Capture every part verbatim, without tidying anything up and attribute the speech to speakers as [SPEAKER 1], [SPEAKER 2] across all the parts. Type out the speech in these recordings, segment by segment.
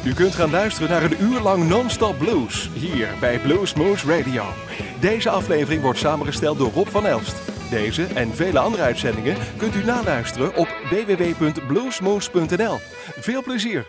[SPEAKER 1] U kunt gaan luisteren naar een uur lang non-stop blues, hier bij Bluesmoose Radio. Deze aflevering wordt samengesteld door Rob van Elst. Deze en vele andere uitzendingen kunt u naluisteren op w w w punt bluesmoose punt n l. Veel plezier!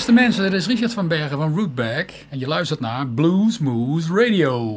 [SPEAKER 2] Beste mensen, dit is Richard van Bergen van Rootback en je luistert naar Bluesmoose Radio.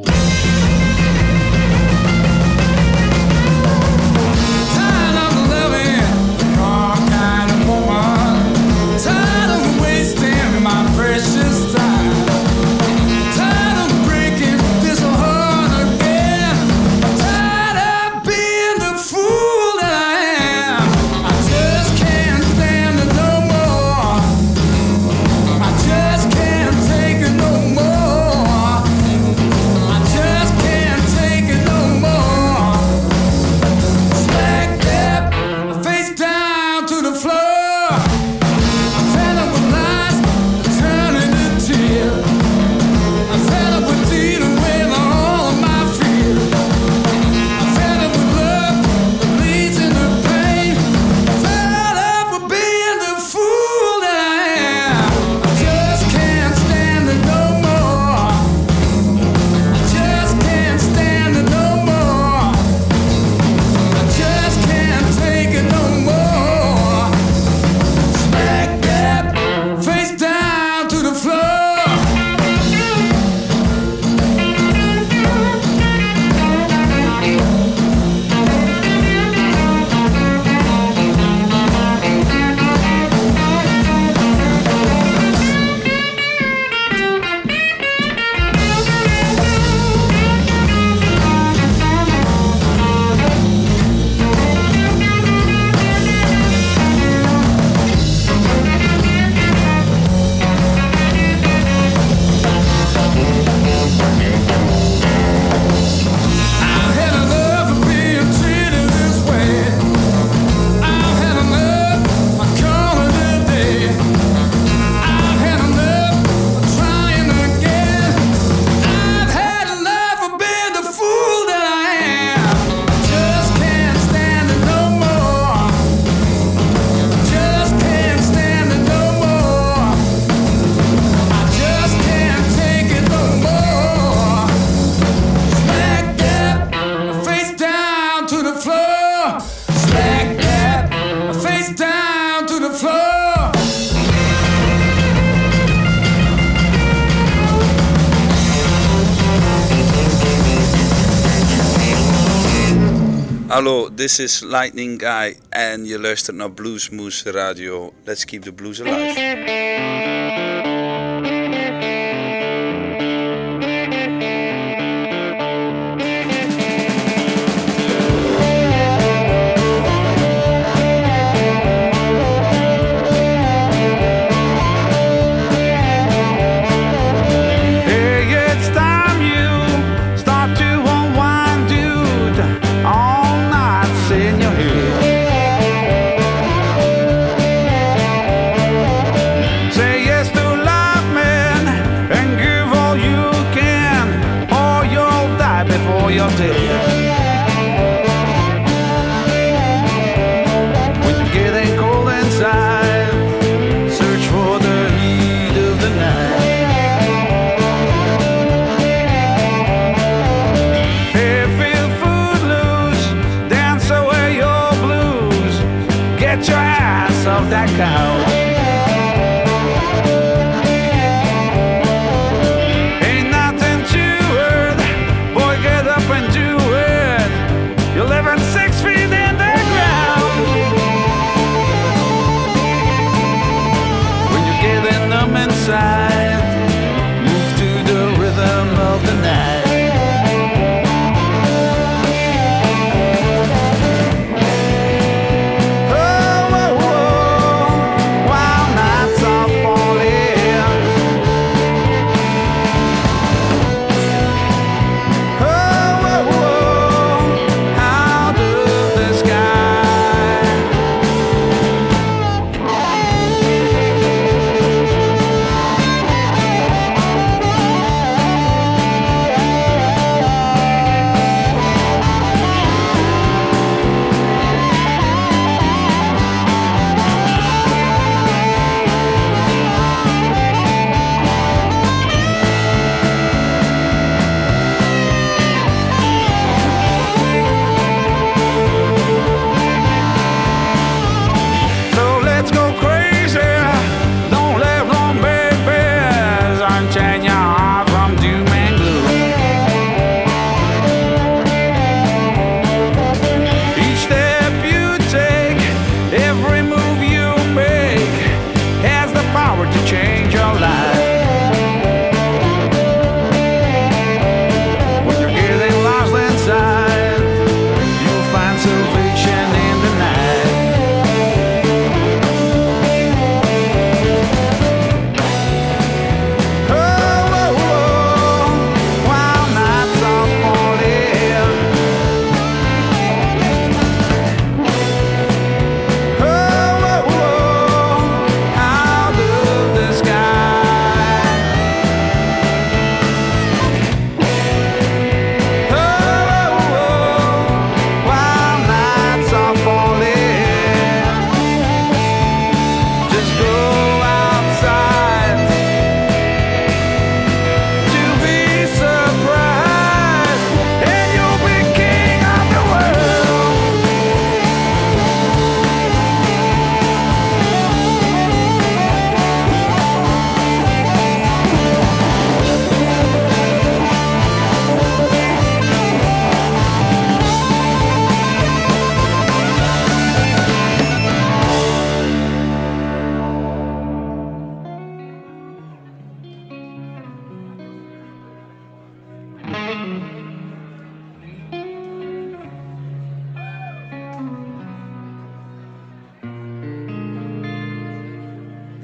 [SPEAKER 3] Hallo, this is Lightning Guy en je luistert naar Bluesmoose Radio. Let's keep the blues alive.
[SPEAKER 4] Oh,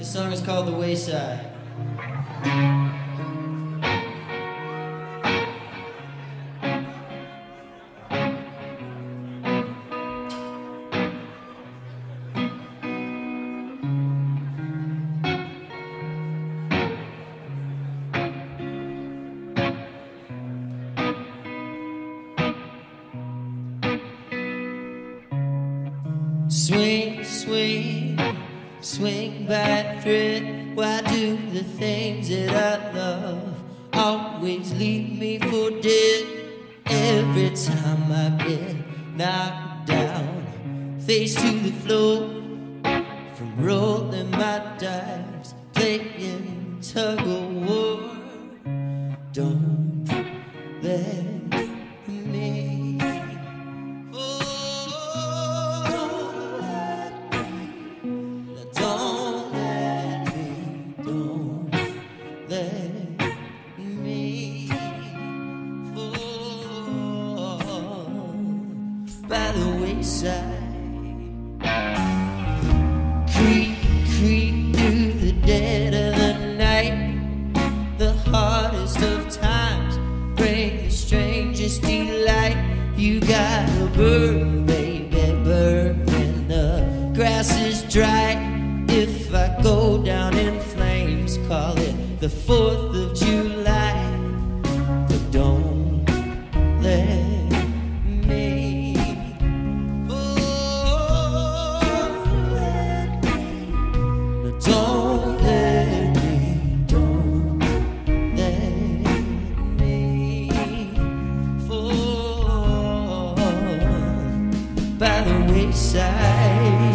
[SPEAKER 4] song is called The Wayside. Swing, swing, swing back thread. Why do the things that I love always leave me for dead? Every time I get knocked down, face to the floor, from rolling my dice, playing tug of war. Don't let me by the wayside. Creep, creep through the dead of the night. The hardest of times bring the strangest delight. You gotta burn, baby, burn when the grass is dry. If I go down in flames, call it the fourth of July. But don't let by the wayside.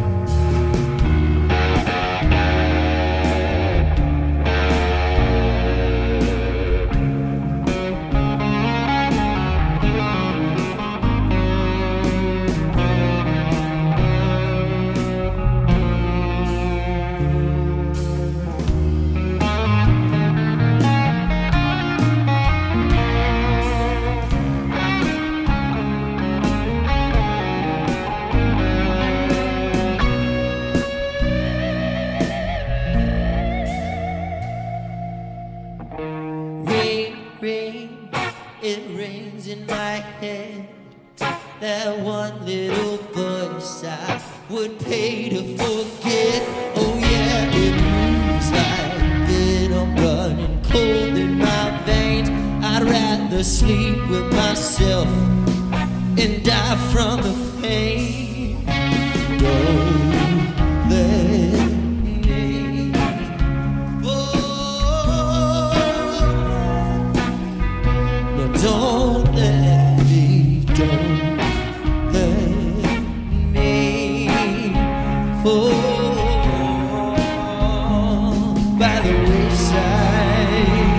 [SPEAKER 4] It rings in my head, that one little voice I would pay to forget. Oh yeah, it moves like that. I'm running cold in my veins. I'd rather sleep with myself and die from the pain. Don't let me fall. No, don't let me, don't let me fall by the wayside.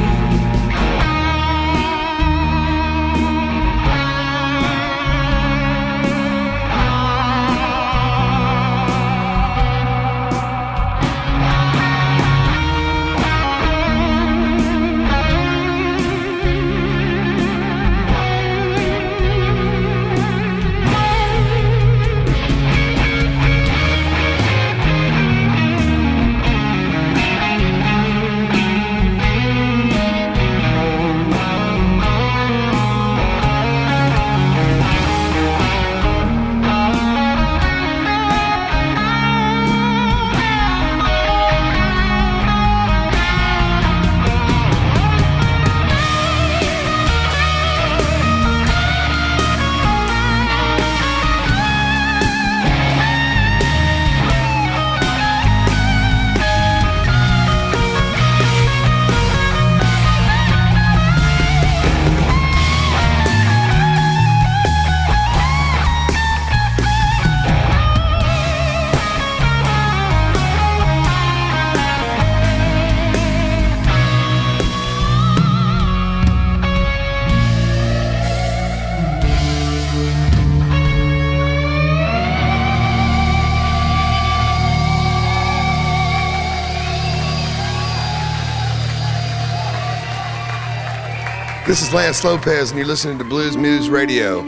[SPEAKER 5] This is Lance Lopez, and you're listening to Blues Moose Radio.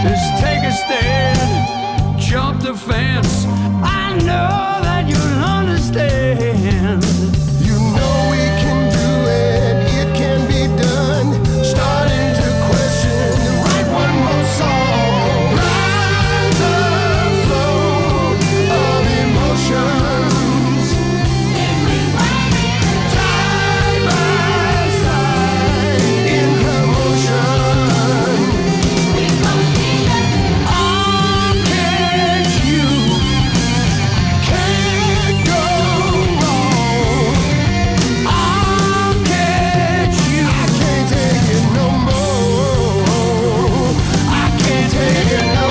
[SPEAKER 6] Just take a stand, jump the fence. I know that you'll understand.
[SPEAKER 5] You know we can do it, it can be done. Starting to question and write one more song. Ride the flow of emotions. Side by side in commotion. I'll catch you. Can't go wrong. I'll catch you. I can't take it no more. I can't take it no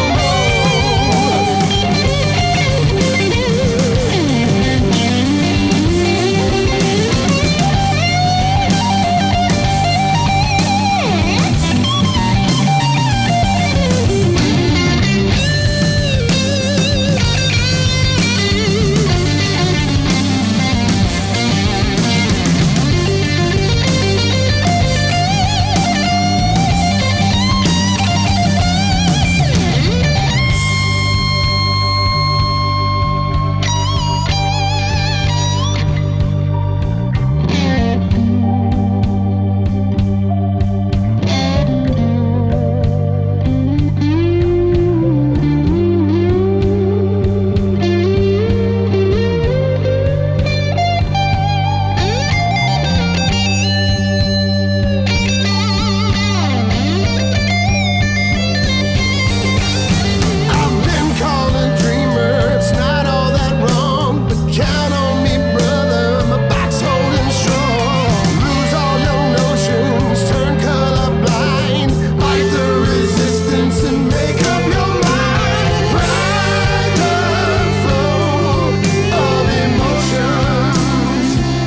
[SPEAKER 5] I've been called a dreamer, it's not all that wrong. But count on me, brother, my back's holding strong. Lose all your notions, turn colorblind. Fight the resistance and make up your mind. Ride the flow of emotions.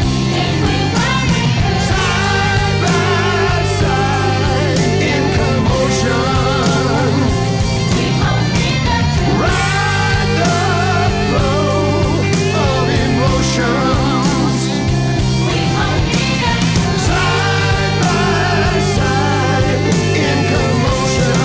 [SPEAKER 5] Side by side in commotion. Ride the flow of emotions. Side by side in commotion.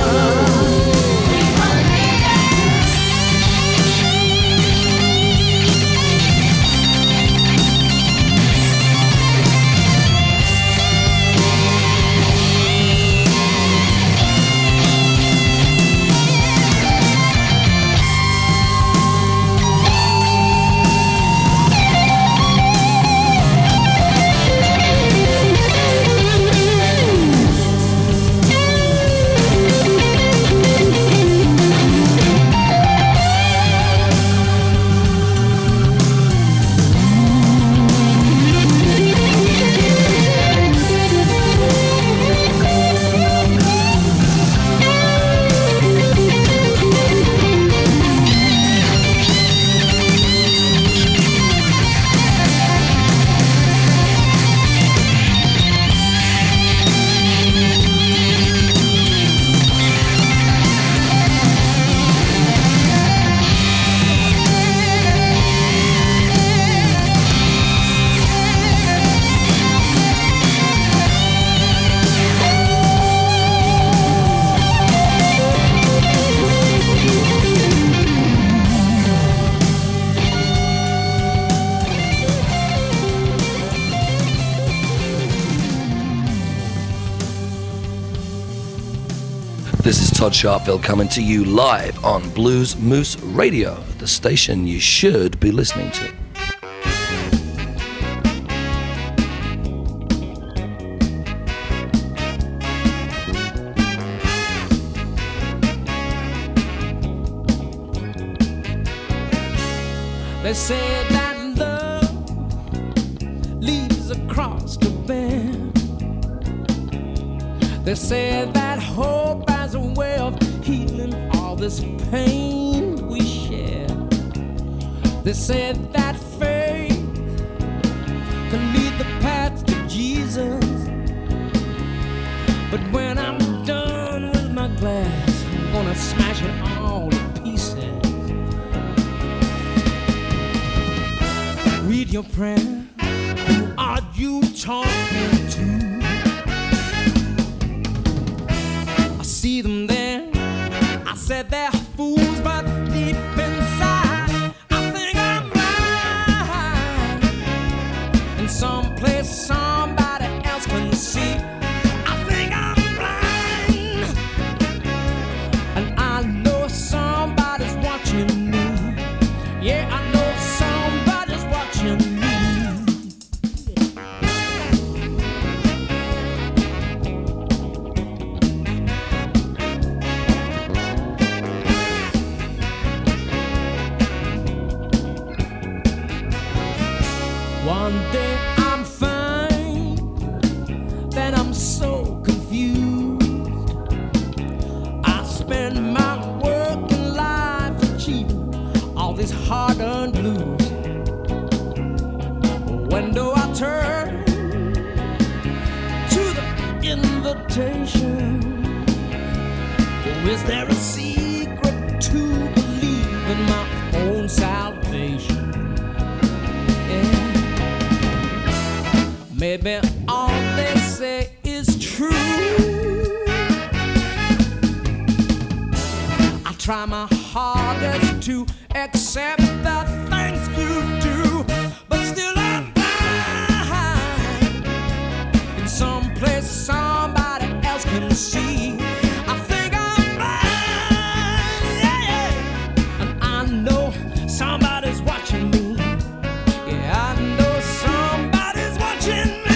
[SPEAKER 7] This is Todd Sharpville coming to you live on Blues Moose Radio, the station you should be listening to.
[SPEAKER 6] They say that love leads across the bend. They say that hope has a way of healing all this pain we share. They say that faith can lead the path to Jesus. But when I'm done with my glass, I'm gonna smash it all to pieces. Read your prayer. Who are you talking to? I see them there said they're fools, but deep inside I think I'm blind. In some place somebody else can see. I think I'm blind, and I know somebody's watching me. Yeah, I know somebody's watching me. One day I'm fine, then I'm so confused. I spend my working life achieving all these hard-earned blues. When do I turn to the invitation? Or is there a secret to believe in my own salvation? Maybe all they say is true. I try my hardest to accept the things you do, but still I'm blind. In some place somebody else can see. I think I'm blind, yeah, yeah. And I know somebody's watching me. Yeah, I know somebody's watching me.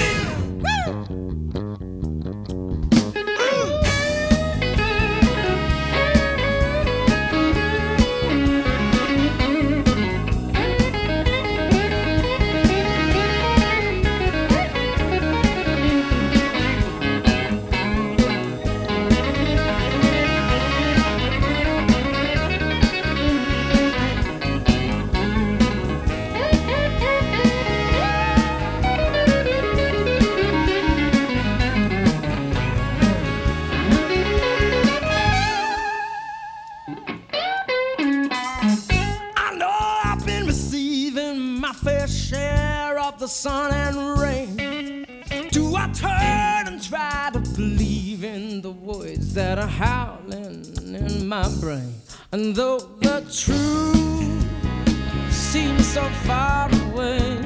[SPEAKER 6] Sun and rain. Do I turn and try to believe in the words that are howling in my brain? And though the truth seems so far away,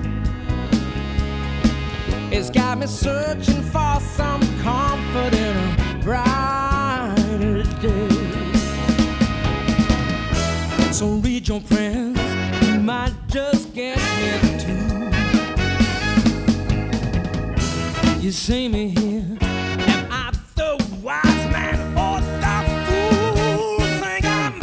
[SPEAKER 6] it's got me searching for some comfort in a brighter day. So read your prayers, you might just get me too. You see me here, am I the wise man or the fool? Think I'm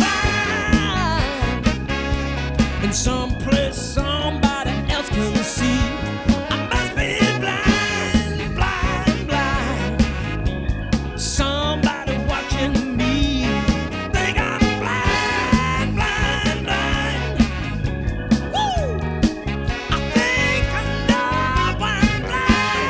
[SPEAKER 6] blind. In some place somebody else can see. I must be blind, blind, blind. Somebody watching me. Think I'm blind, blind, blind. Woo! I think I know I'm blind.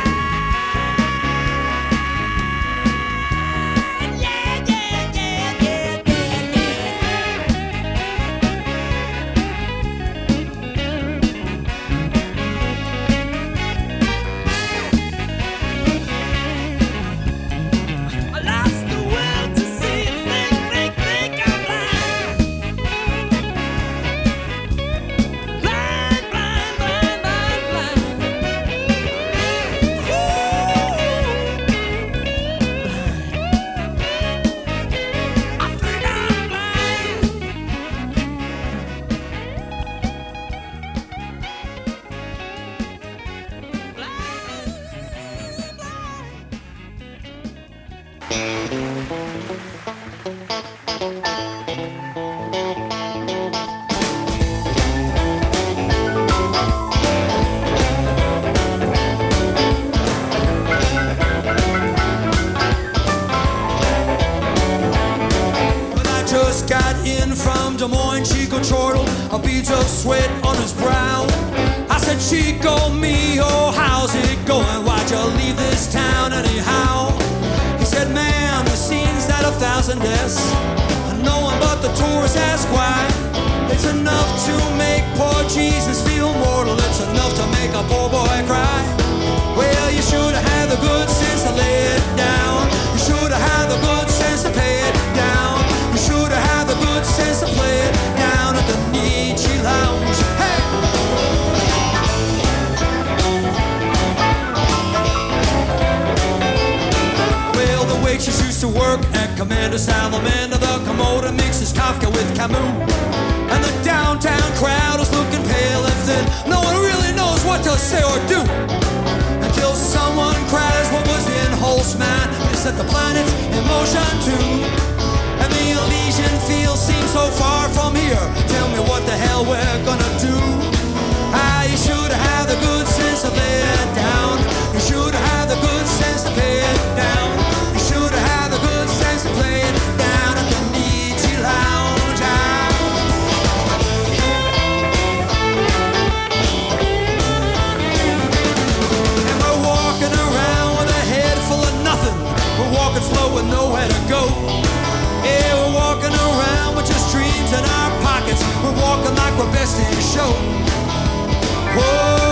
[SPEAKER 8] Des Moines, Chico chortled, a beads of sweat on his brow. I said, Chico, me, oh, how's it going? Why'd you leave this town anyhow? He said, man, the scene's that of thousand deaths, and no one but the tourists ask why. It's enough to make poor Jesus feel mortal. It's enough to make a poor boy cry. Well, you should have had the good sense to lay it down. You should have had the good sense to pay it down. You should have the good sense to play it down at the Nietzsche Lounge. Hey! Well, the waitress used to work at Commander Salamander. The Komodo mixes Kafka with Camus. And the downtown crowd is looking pale and thin. No one really knows what to say or do, until someone cries what was in Holtzman. They set the planets in motion too. And the Elysian fields seem so far from here. Tell me what the hell we're gonna do. Ah, you should have the good sense to lay it down. You should have the good sense to pay it down. You should have the good sense to play it down at the Nietzsche Lounge. Ah. And we're walking around with a head full of nothing. We're walking slow with nowhere to go. Yeah, we're walking around with just dreams in our pockets. We're walking like we're best in show. Whoa.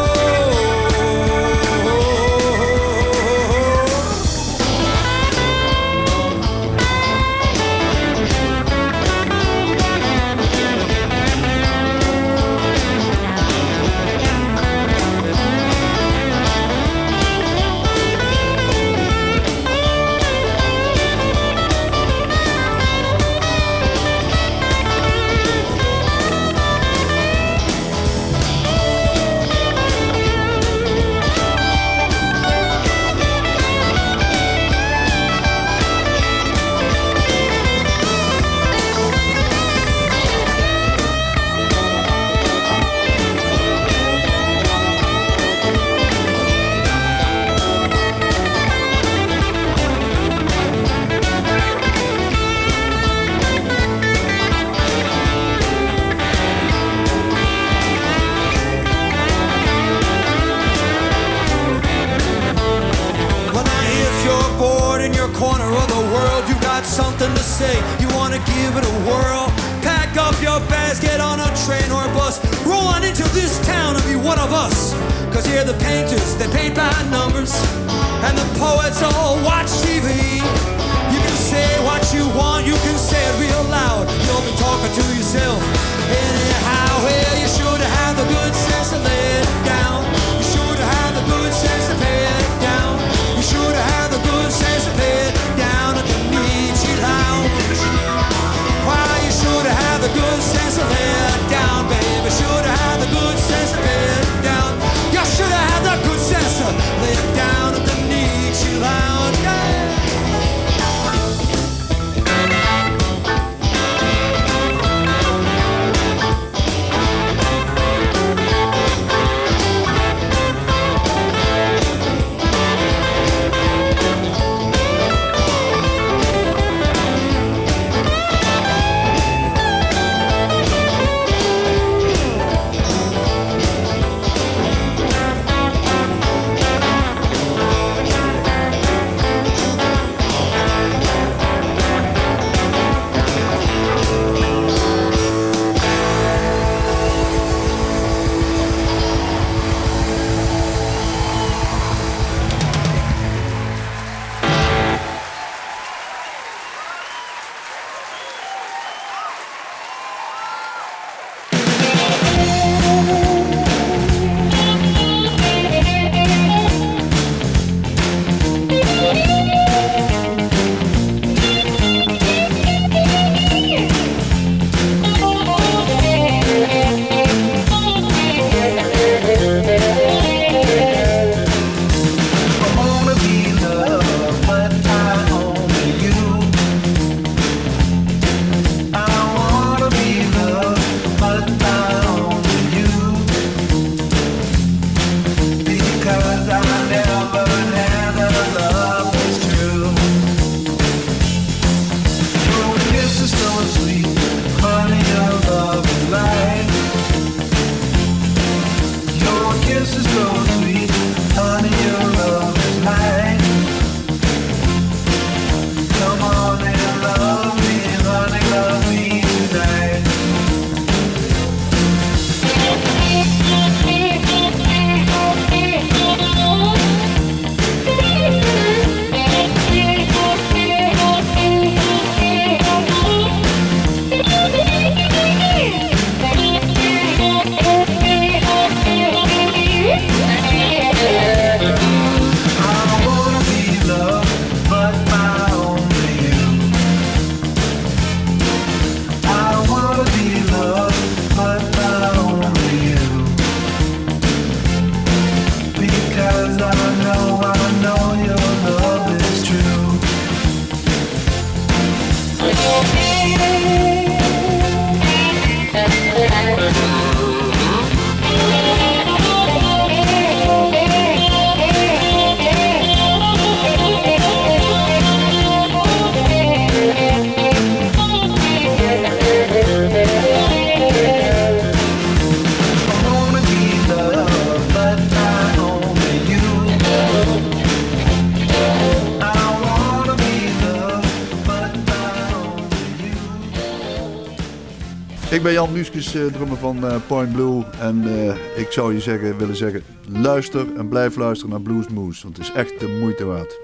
[SPEAKER 8] Corner of the world, you got something to say, you wanna give it a whirl. Pack up your bags, get on a train or a bus, roll on into this town and be one of us. Cause here the painters, they paint by numbers, and the poets all watch T V. You can say what you want, you can say it real loud, you'll be talking to yourself anyhow. Well, you should have the good sense to lay it down. You should have the good sense to pay it down. You should have the good sense to pay it down at the Nietzsche Lounge. Why, you should have the good sense to lay it down, baby. Should have the good sense to pay it down. You should have the good sense to lay it down at the Nietzsche Lounge. Yeah.
[SPEAKER 9] Ik ben Jan Nuskes, uh, drummer van uh, Point Blue. En uh, ik zou je zeggen, willen zeggen, luister en blijf luisteren naar Blues Moose. Want het is echt de moeite waard.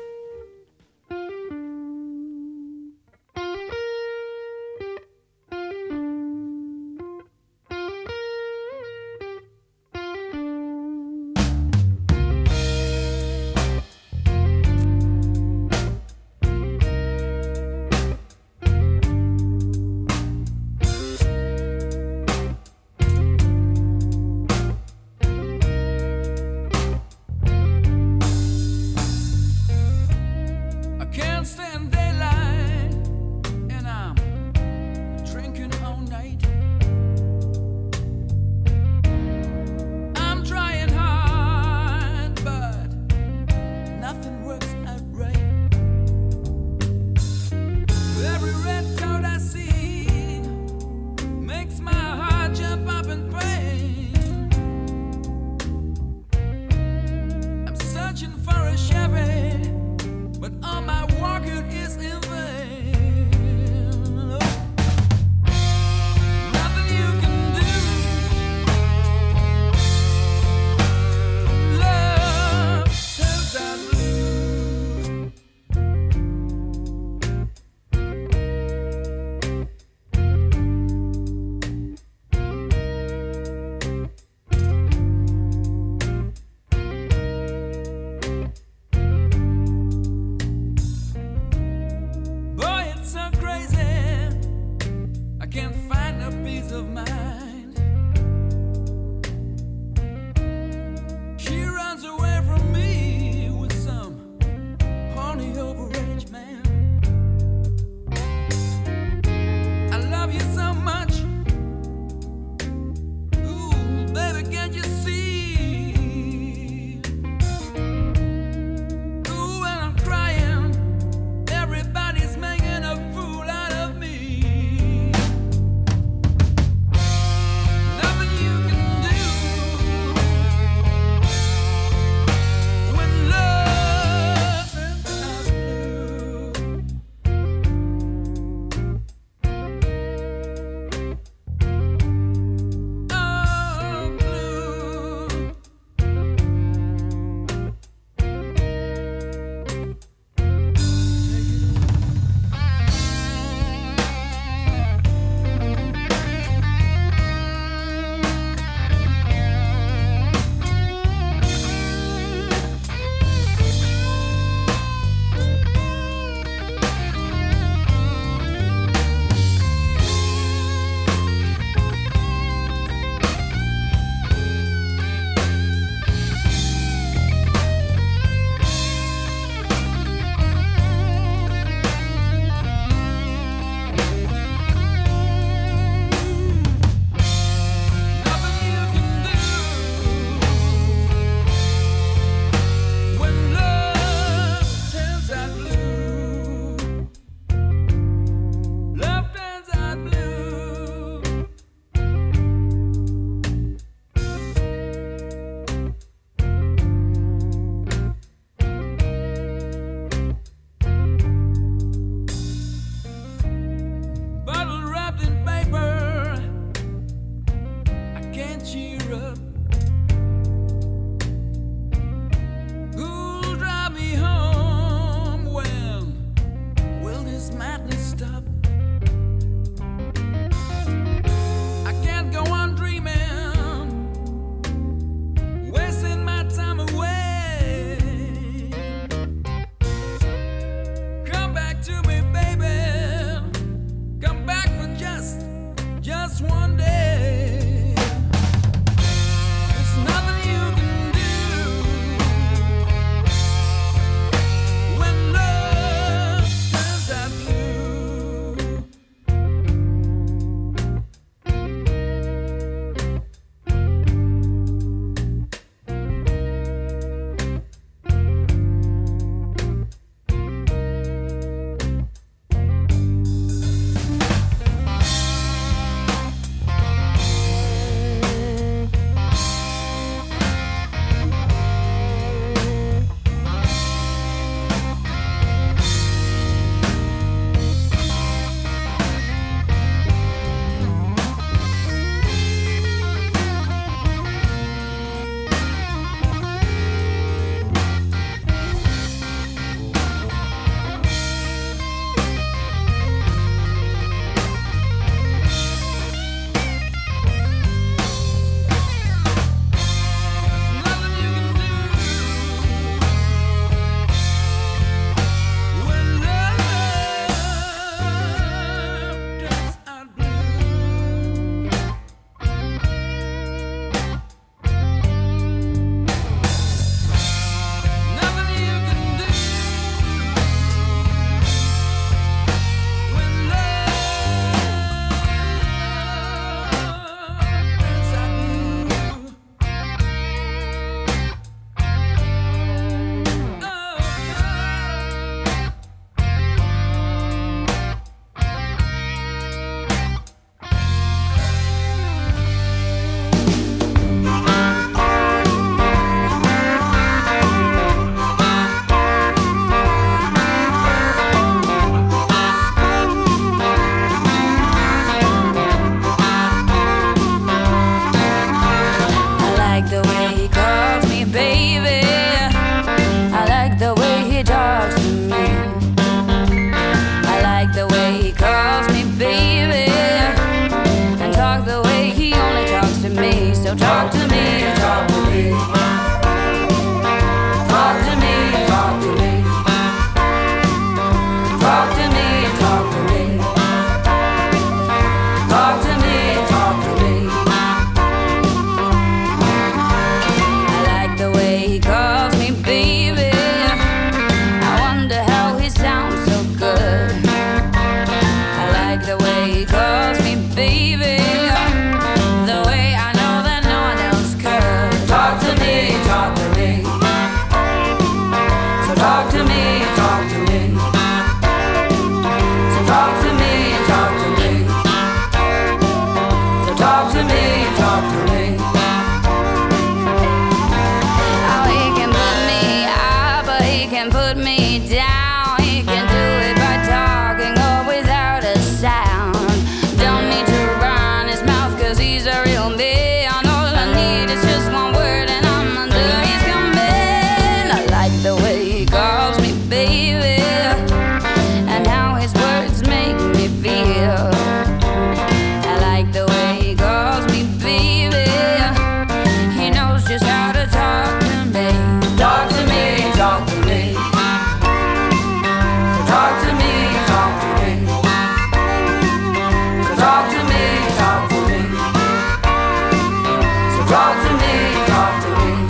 [SPEAKER 10] me. Talk to me, talk to me. Talk to me, talk to me. Talk to me, talk to me. I like the way he calls me baby. I wonder how he sounds so good. I like the way he calls me baby. The way I know that no one else could. Talk to me, talk to me. So talk to me, talk to me. So talk to me, talk to me. So talk to me, talk to me. Oh, he can put me up, but he can put me down. He can do it by talking or without a sound. Don't need to run his mouth, cause he's a real man. All I need is just one word and I'm under his command. I like the way he calls me baby, and how his words make me feel. I like the way he calls me baby. He knows just how to talk to me. Talk to me, talk to me. So talk to me, talk to me. So talk to me, talk to me. So talk to me, talk to me.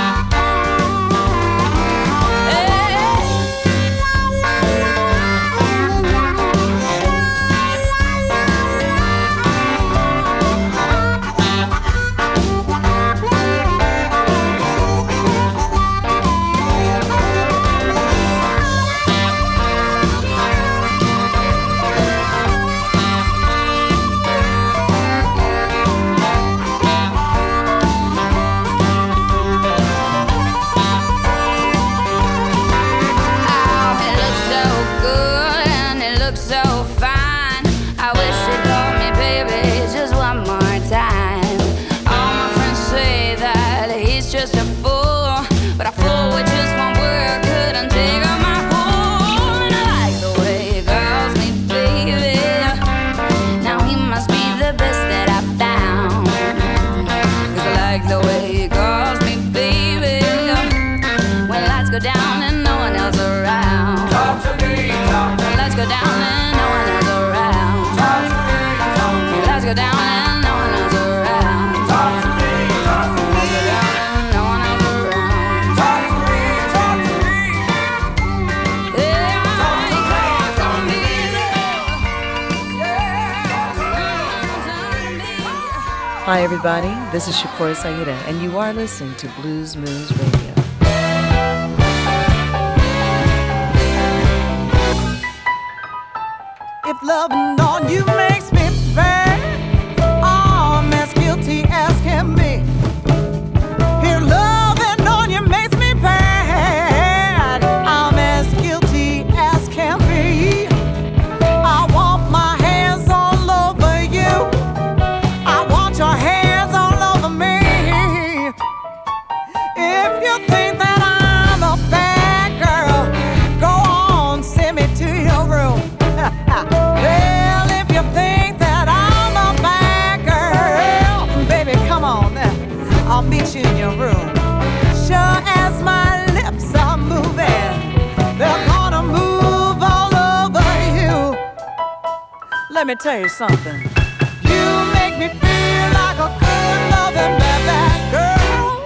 [SPEAKER 10] Oh, it looks so good and it looks so fine. I wish you'd call me baby just one more time. All my friends say that he's just a fool, but a fool with just one word couldn't take off my hold. And I like the way he calls me baby. Now he must be the best that I've found. Cause I like the way he calls me baby. When lights go down and no one else around. Talk to me, talk to me. When lights go down and no one else around. Talk to me, talk to me. When lights go down and no one else around. Talk to me, talk to me. Lights go down and no one else around. Talk to me, talk to me. Yeah, talk to me, talk to me.
[SPEAKER 11] Hi, everybody. This is Shakura Saida, and you are listening to Blues Moose Radio.
[SPEAKER 12] If loving on you makes me bad, I'm as guilty as can be. If loving on you makes me bad, I'm as guilty as can be. I want my hands all over you. I want your hands all over me. If you think that I'm a bad girl, go on, send me to your room. Well, if you think that I'm a bad girl, baby, come on now, I'll meet you in your room. Sure as my lips are moving, they're gonna move all over you. Let me tell you something. You make me feel like a good loving bad, bad girl.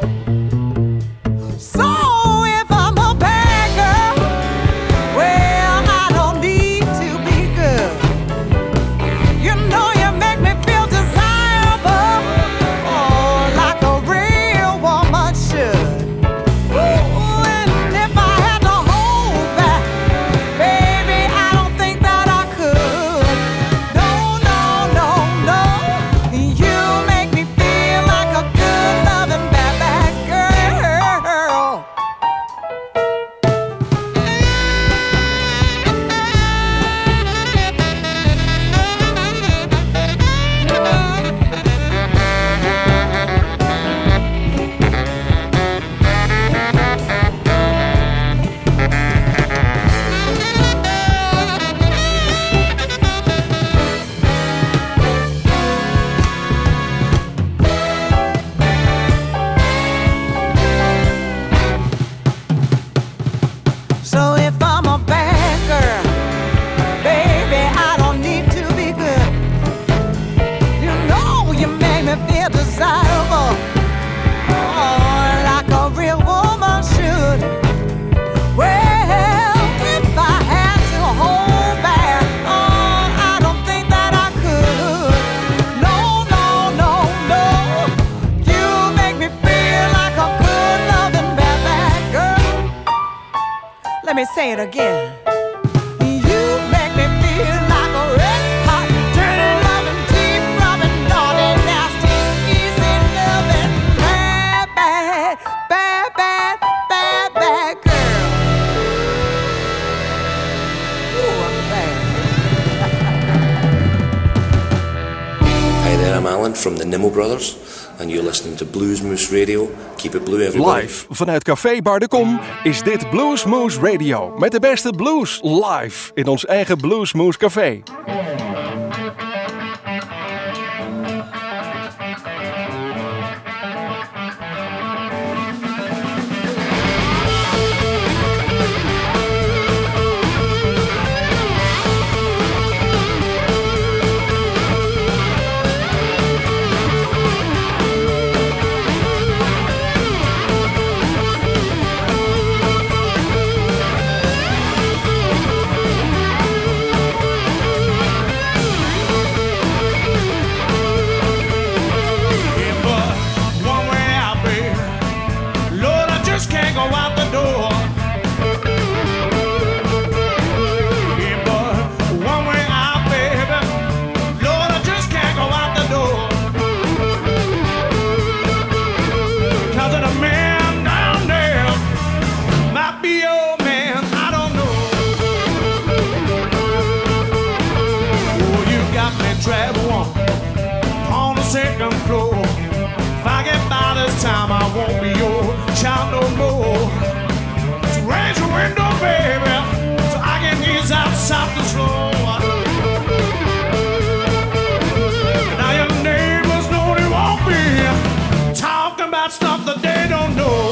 [SPEAKER 12] So if I'm a bad girl, well, I don't need to be good. You know you make me feel desirable, oh, like a real woman should. Ooh, and if I had to hold back, baby, I don't think that I could. No, no, no, no. You make me feel like a good loving say it again. You make me feel like a red hot, dirty loving, deep rubbing, naughty, nasty, easy loving, bad, bad, bad, bad, bad, bad girl. Ooh, I'm bad.
[SPEAKER 13] Hi there, I'm Alan from the Nimmo Brothers, and you're listening to Blues Moose Radio. Keep it blue, everybody.
[SPEAKER 1] Live vanuit Café Bar de Kom is dit Blues Moose Radio. Met de beste blues live in ons eigen Blues Moose Café.
[SPEAKER 8] Time I won't be your child no more. So raise your window, baby, so I can ease out south the slow. Now your neighbors know they won't be talking about stuff that they don't know.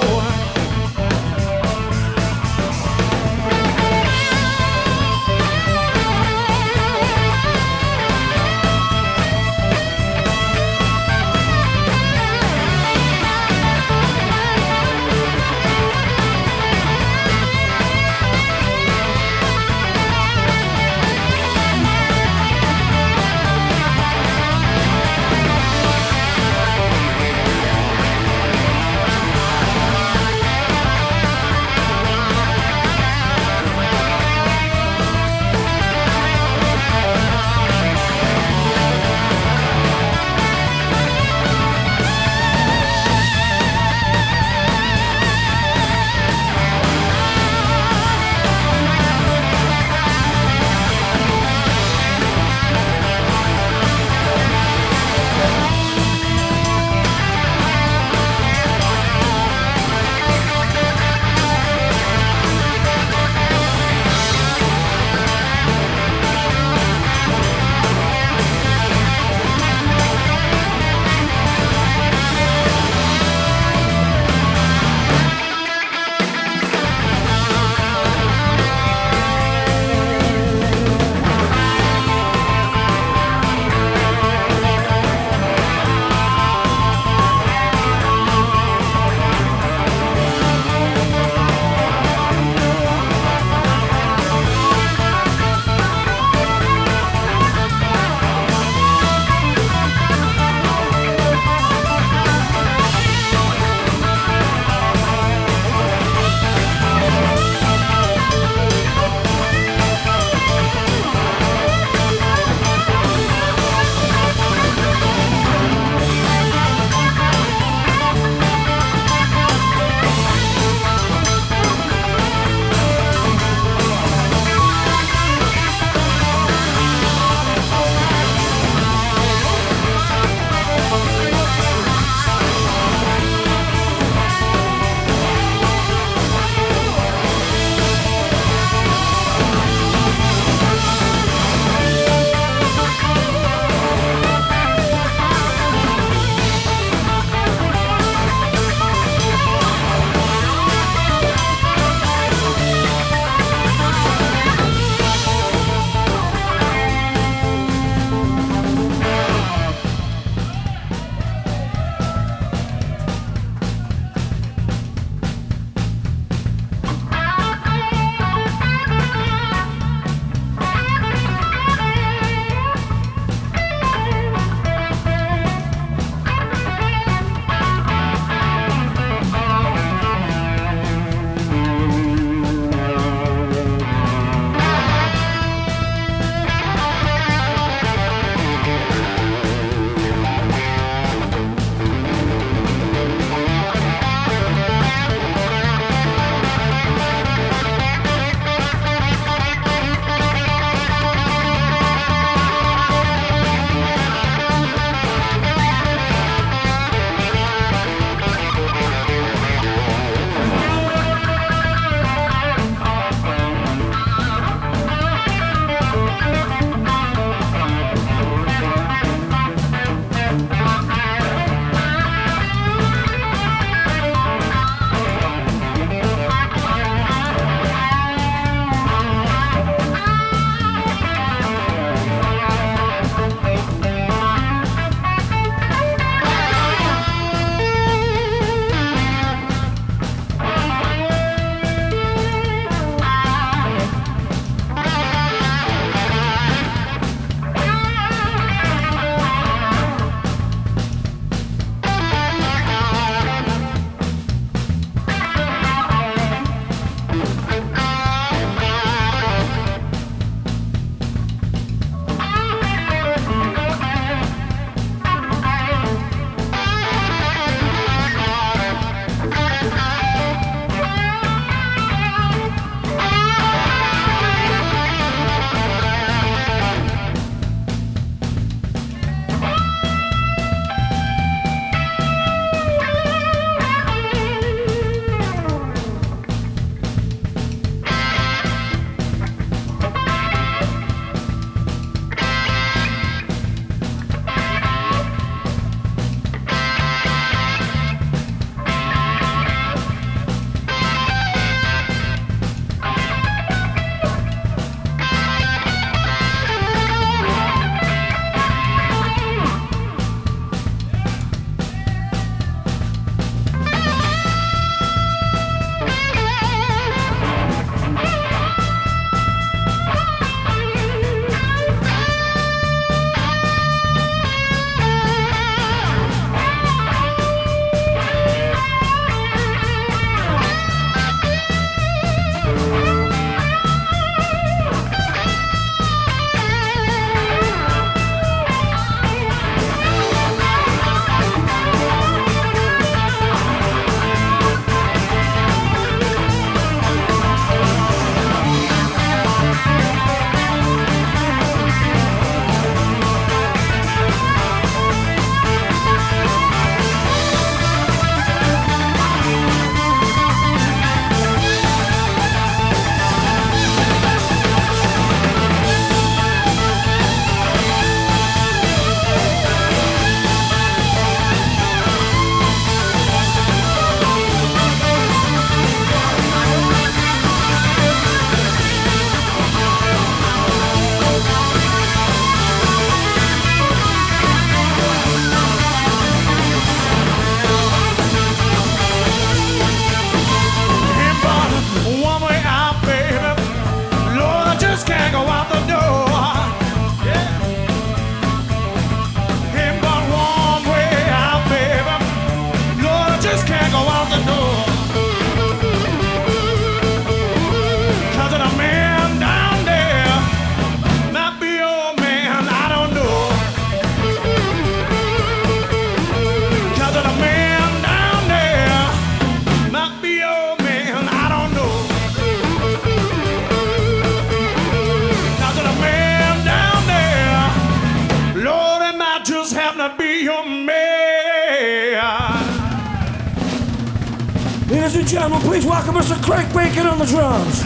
[SPEAKER 14] and gentlemen, please welcome Mister Craig Bacon on the drums.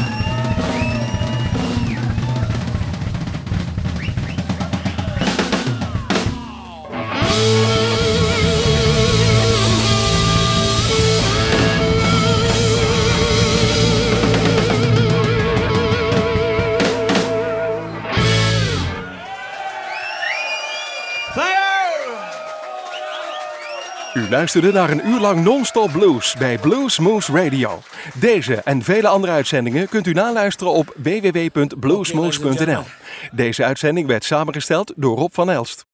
[SPEAKER 1] U luisterde naar een uur lang non-stop blues bij Blues Moose Radio. Deze en vele andere uitzendingen kunt u naluisteren op w w w punt bluesmoose punt n l. Deze uitzending werd samengesteld door Rob van Elst.